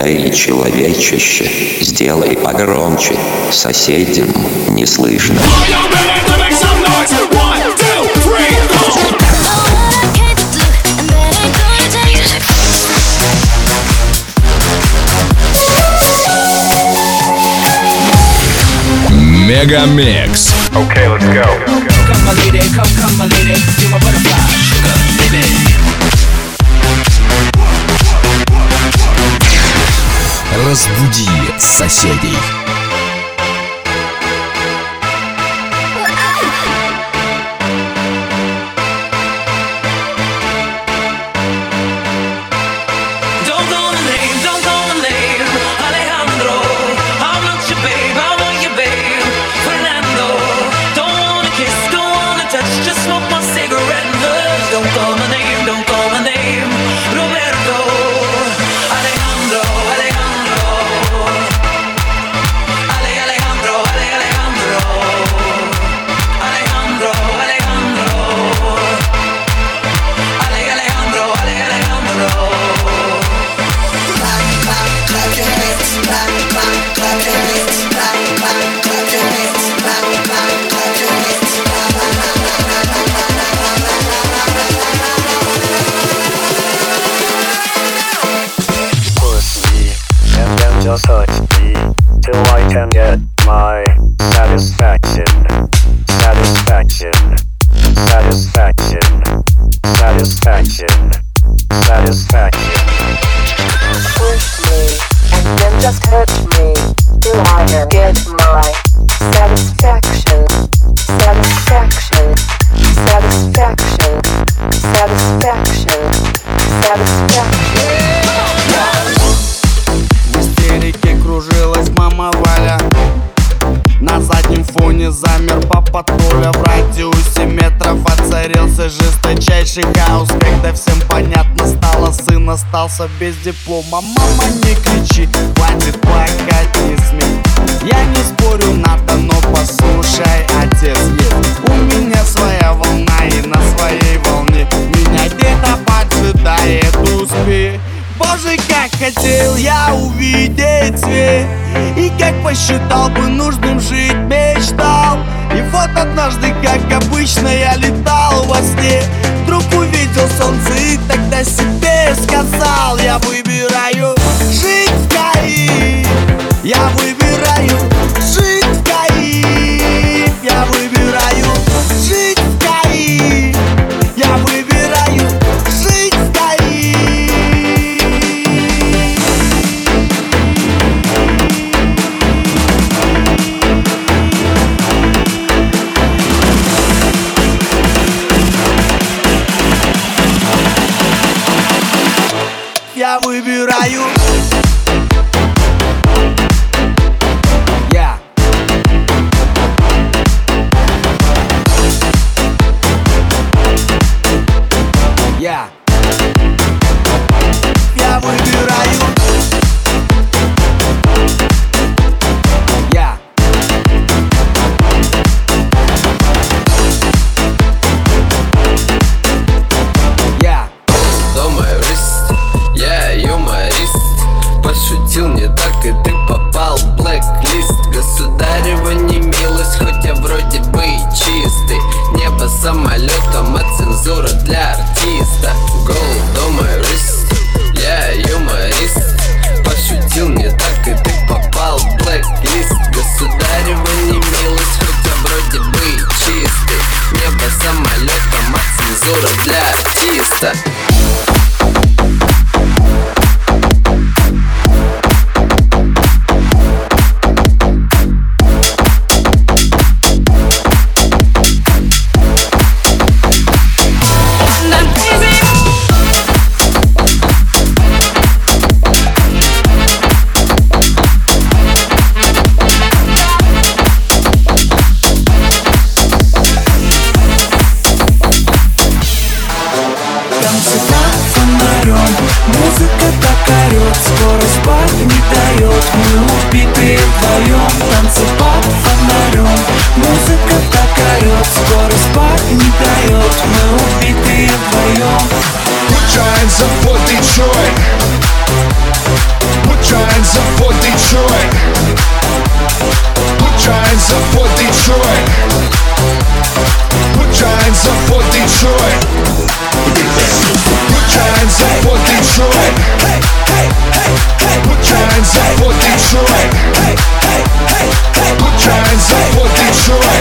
Эй, человечище, сделай погромче, соседям не слышно. Мегамикс. Okay, let's go. Come my lady, come my lady, you're my butterfly, sugar, baby. Разбуди соседей. Just touch me till I can get my satisfaction. Satisfaction. Satisfaction. Satisfaction. Satisfaction. Push me and then just touch me till I can get my satisfaction. Satisfaction. Satisfaction. Satisfaction. Satisfaction. Кружилась мама Валя. На заднем фоне замер папа Толя. В радиусе метров воцарился жесточайший хаос. Когда всем понятно стало, сын остался без диплома. Мама, не кричи, хватит плакать, не смей. Я не спорю, надо, но послушай, отец есть. У меня своя волна, и на своей волне меня где-то поджидает успех. Боже, как хотел я увидеть свет, и как посчитал бы нужным жить, мечтал. И вот однажды, как обычно, я летал во сне. Вдруг увидел солнце и тогда себе сказал: я выбираю жить в Каире. Я выбираю жить в Каире. Я выбираю жить в Каире. Я выбираю жить в Каире. Я выбираю. Я. Я. Я выбираю. Я. Я. Юморист, я юморист. Пошутил не так, и ты попал в блэк-лист. Государева немилость, хоть я вроде бы и чистый. Небо самолетом, а цензура для артиста. Gold on my wrist, я юморист. Пошутил не так, и ты попал в блэк-лист. Государева немилость, хоть я вроде бы и чистый. Небо самолетом, а цензура для артиста. hands up for Detroit. Put your hands up for Detroit. Put your hands up for Detroit. Put your hands up for Detroit. Put your hands up for Detroit.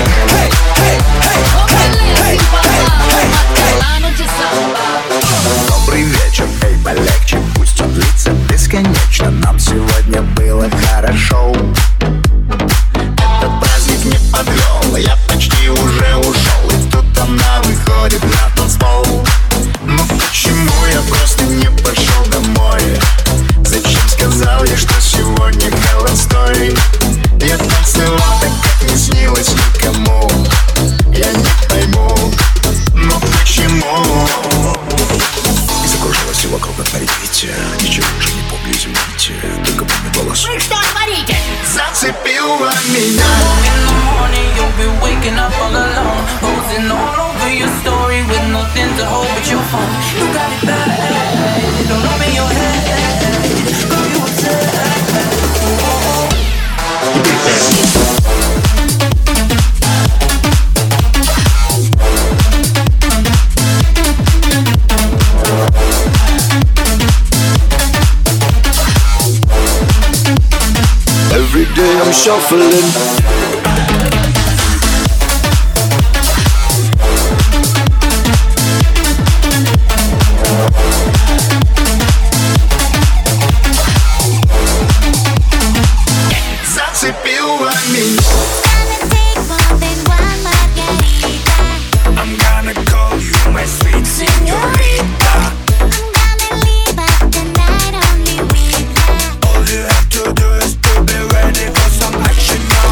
Добрый вечер, эй, полегче, пусть он длится бесконечно. Нам сегодня было хорошо. Этот праздник не подвел, я почти уже ушел. И тут она выходит на танцпол. Ну почему я просто не пошел домой? Зачем сказал я, что сегодня холостой? Я танцевал так, как не снилось никому. Я не пойму, но почему? И закружилась все вокруг, отворите. Ничего уже не помню, извините. Только помню голос. Вы что творите? Зацепила меня. Every day I'm shuffling. Зацепила меня. I'm gonna call you my sweet señorita. All you have to do is to be ready for some action now.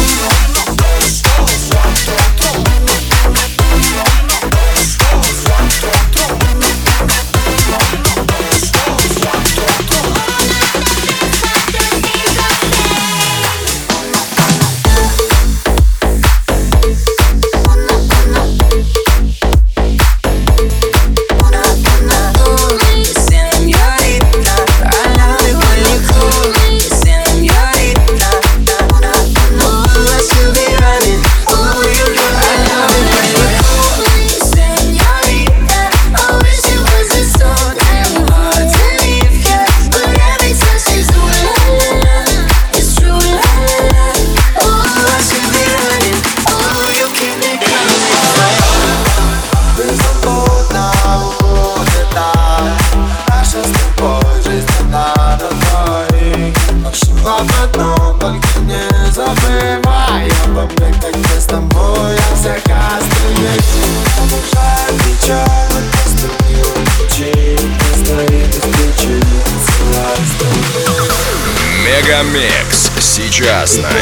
Мегамикс сейчас на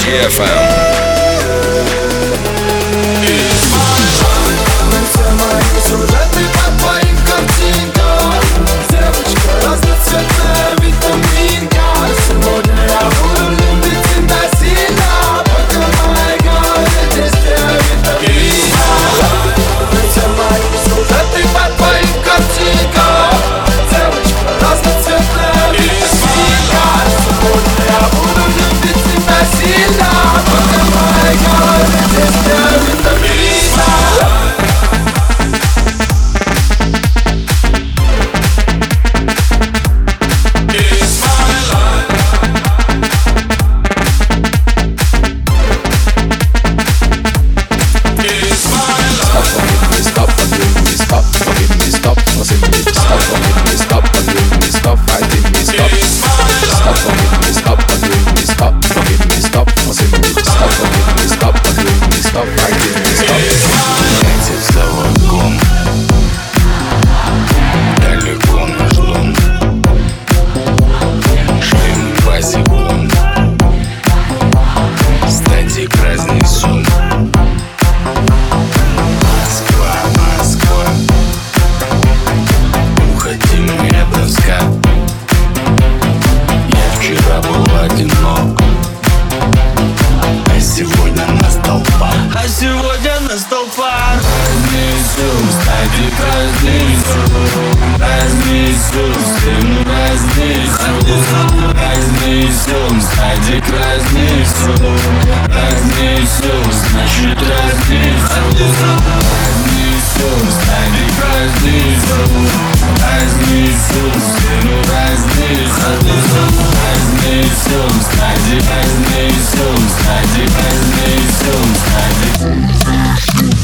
DFM. Разницу, с кем разницу, разницу. разнесем, садик разнесем, разнесем, значит разнесем, разнесем, садик разнесем, разнесем, стену разнесем, разнесем, садик разнесем, садик разнесем, садик.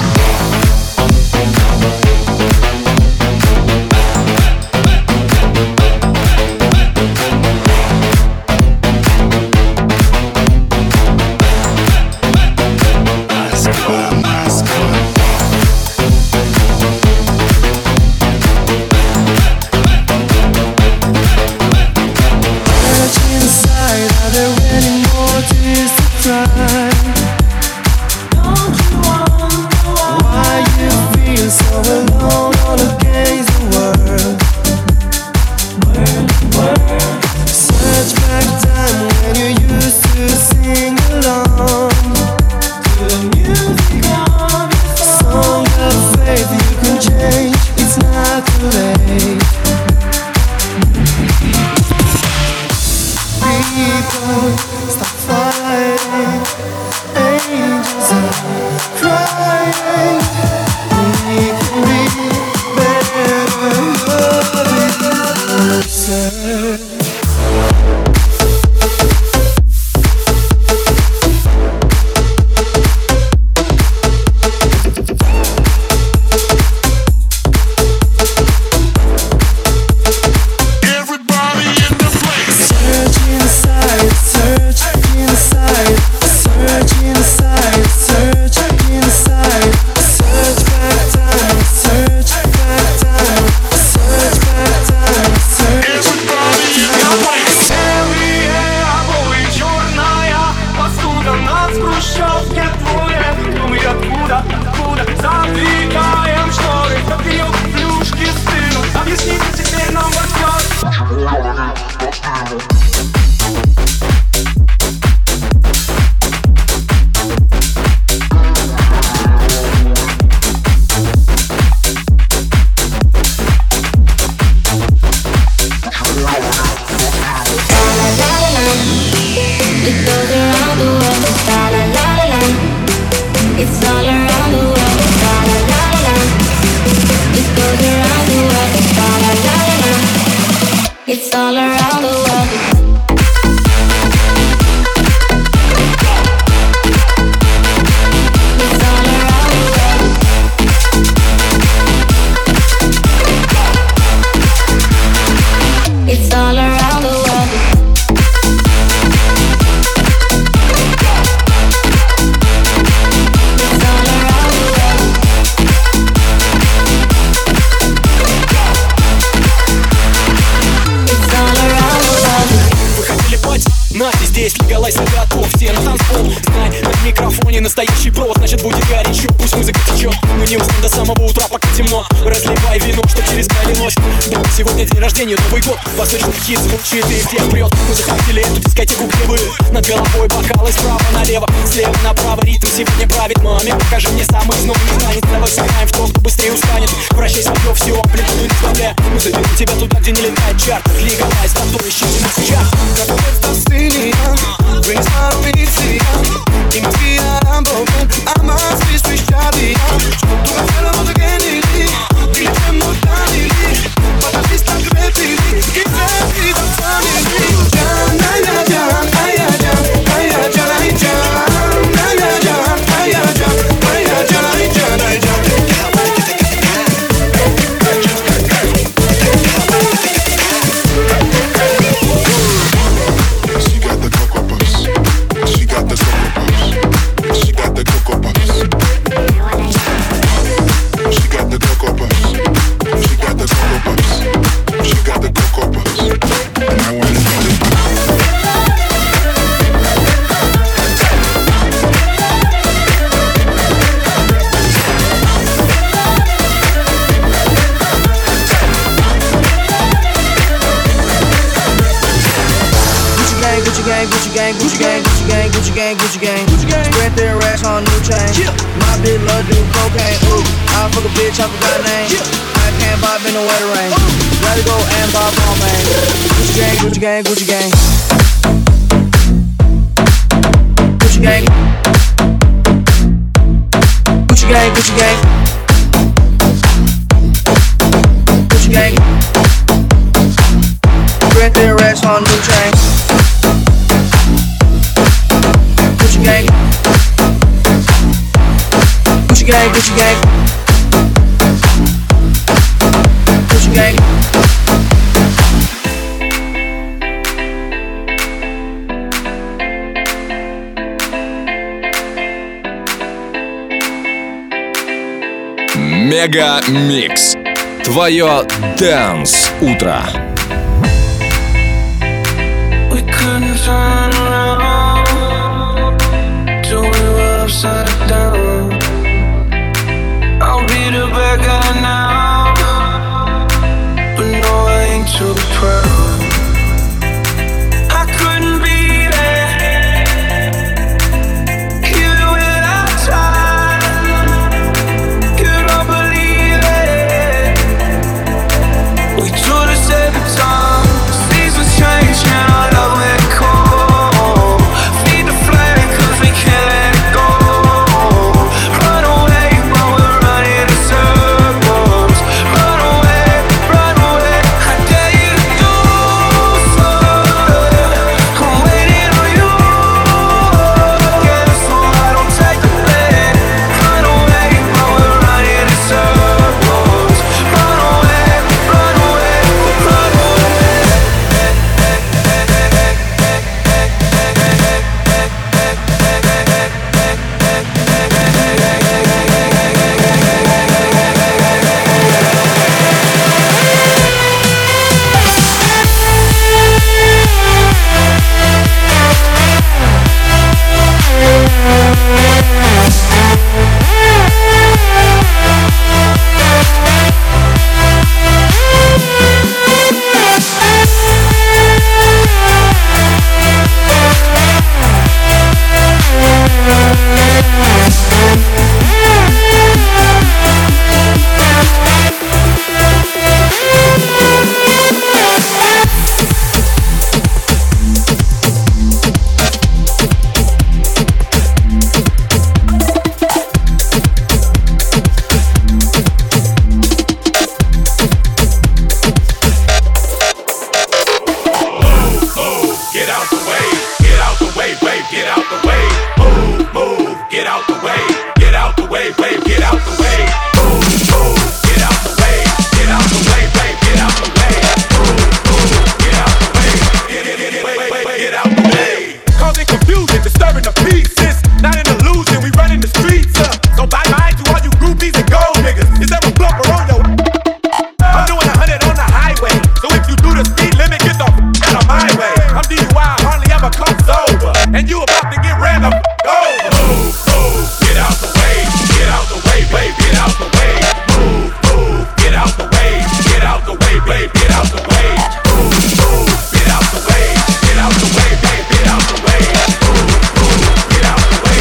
Настоящий провод, значит будет горячо. Пусть музыка течет, но не уснем до самого утра, пока темно. Разливай вино, что через край ночь. Да, сегодня день рождения, Новый год. Восточный хит звучит и всех прет. Мы захватили эту дискотеку, где вы. Над головой бокалы справа налево, слева направо. Ритм сегодня правит. Маме, покажи мне самый снова не станет. Давай сыграем в то, кто быстрее устанет. Вращай свое все, амплитуду не сбавляя. Мы заберем тебя туда, где не летает чарт. Легалайз, потом ищите нас сейчас. I must be switched out the tu hacerlo again dile mortali but at least I'm ready give me the family jam ay jam ay jam ay jam ay jam ay jam ay jam ay jam ay jam she got the cocoa puffs she got the cocoa puffs she got the cocoa puffs she got the cocoa puffs she got the cocoa puffs she got the cocoa puffs and I wanna eat it. Gucci gang, Gucci gang, Gucci gang, Gucci gang, Gucci gang, Gucci gang, Gucci gang. Spread their racks on new chain. My bitch love do cocaine. Ooh, I fuck a bitch, I forgot her name. I can't bob in the wetter rain. Gotta go and bob all man. Gucci gang, Gucci gang, Gucci gang. Gucci gang. Gucci gang, Gucci gang. Gucci gang. Grand Theft racks on new chain. Gucci gang. Gucci gang, Gucci gang. Gucci gang. Мега Микс. Твое Dance утро. We couldn't turn around till we were upside down. I'll be the bad guy now, but no, I ain't too proud. I couldn't be there, even when I tried. You don't believe it. We do this every time. Seasons change and our love went cold. Feed the flame 'cause we can't let it go. Run away while we're running in circles. Run away, I dare you to do so. I'm waiting on you. Guess so I don't take the blame. Run away while we're running in circles. Run away, run away, run away. Causing confusion, disturbing the peace. It's not an illusion, we run in the streets. So bye bye to all you groupies and gold niggas. Is there a bumper on your? I'm doing 100 on the highway. So if you do the speed limit, get the out of my way. I'm DUI, hardly ever come sober. And you about to get ran the over. Move, move, get out the way. Get out the way, babe, get out the way. Move, move, get out the way. Get out the way, babe, get out the way. Move, move, get out the way. Get out the way, babe, get out the way. Move, move, get out the way.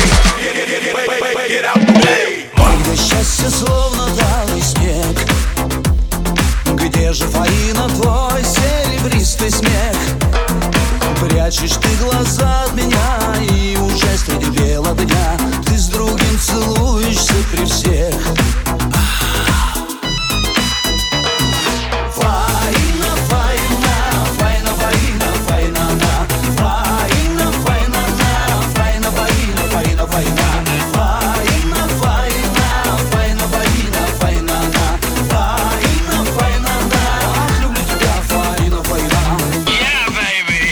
Get out the way. Мое счастье словно талый снег. Где же Фаина, твой серебристый смех? Прячешь ты глаза от меня, и уже среди бела дня ты с другим целуешься при всех. Фаина, Фаина, Фаина, Фаина, Фаина, Фаина, Фаина, Фаина, Фаина, Фаина, Фаина, Фаина, Фаина, Фаина, Фаина, Фаина, Фаина, ах, люблю тебя, Фаина, Фаина. Yeah, baby.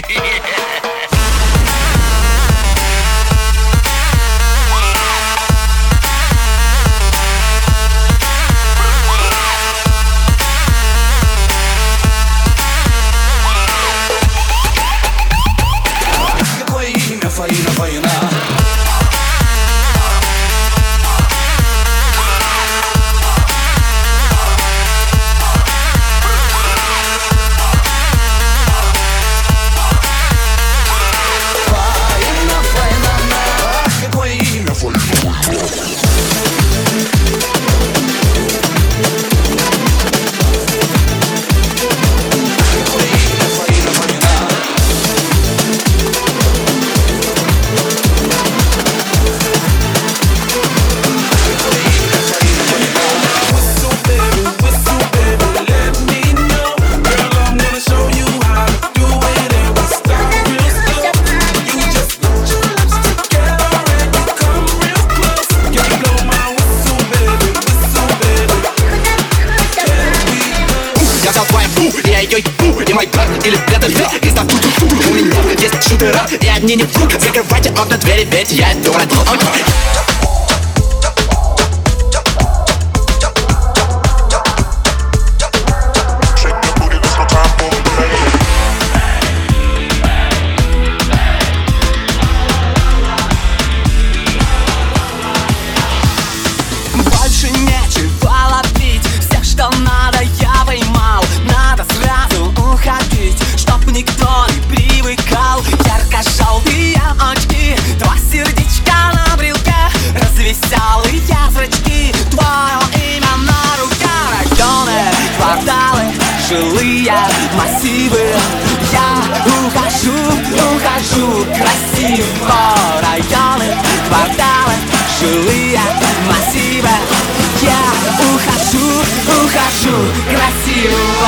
меня есть шутера, и одни не вдруг. Закрывайте окна, двери, ведь я иду родил. Больше нечего ловить, все, что надо, я поймал. Надо сразу уходить, чтоб никто не привыкал. Ярко-желтые очки, два сердечка на брелке, развеселые зрачки, твое имя на руке. Районы, кварталы, жилые массивы. Я ухожу красиво. Районы, кварталы, жилые массивы. Я ухожу красиво.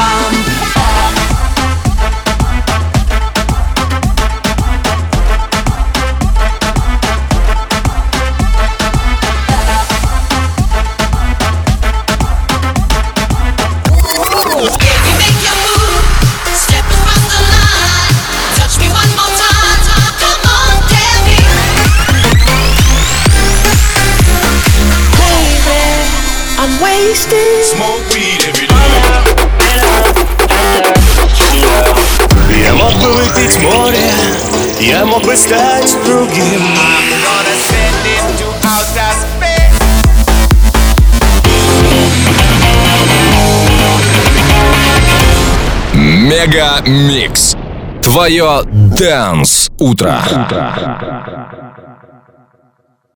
Smoke weed every day. Я мог бы выпить море, я мог бы стать другим. Мега Микс. Твое Dance утро.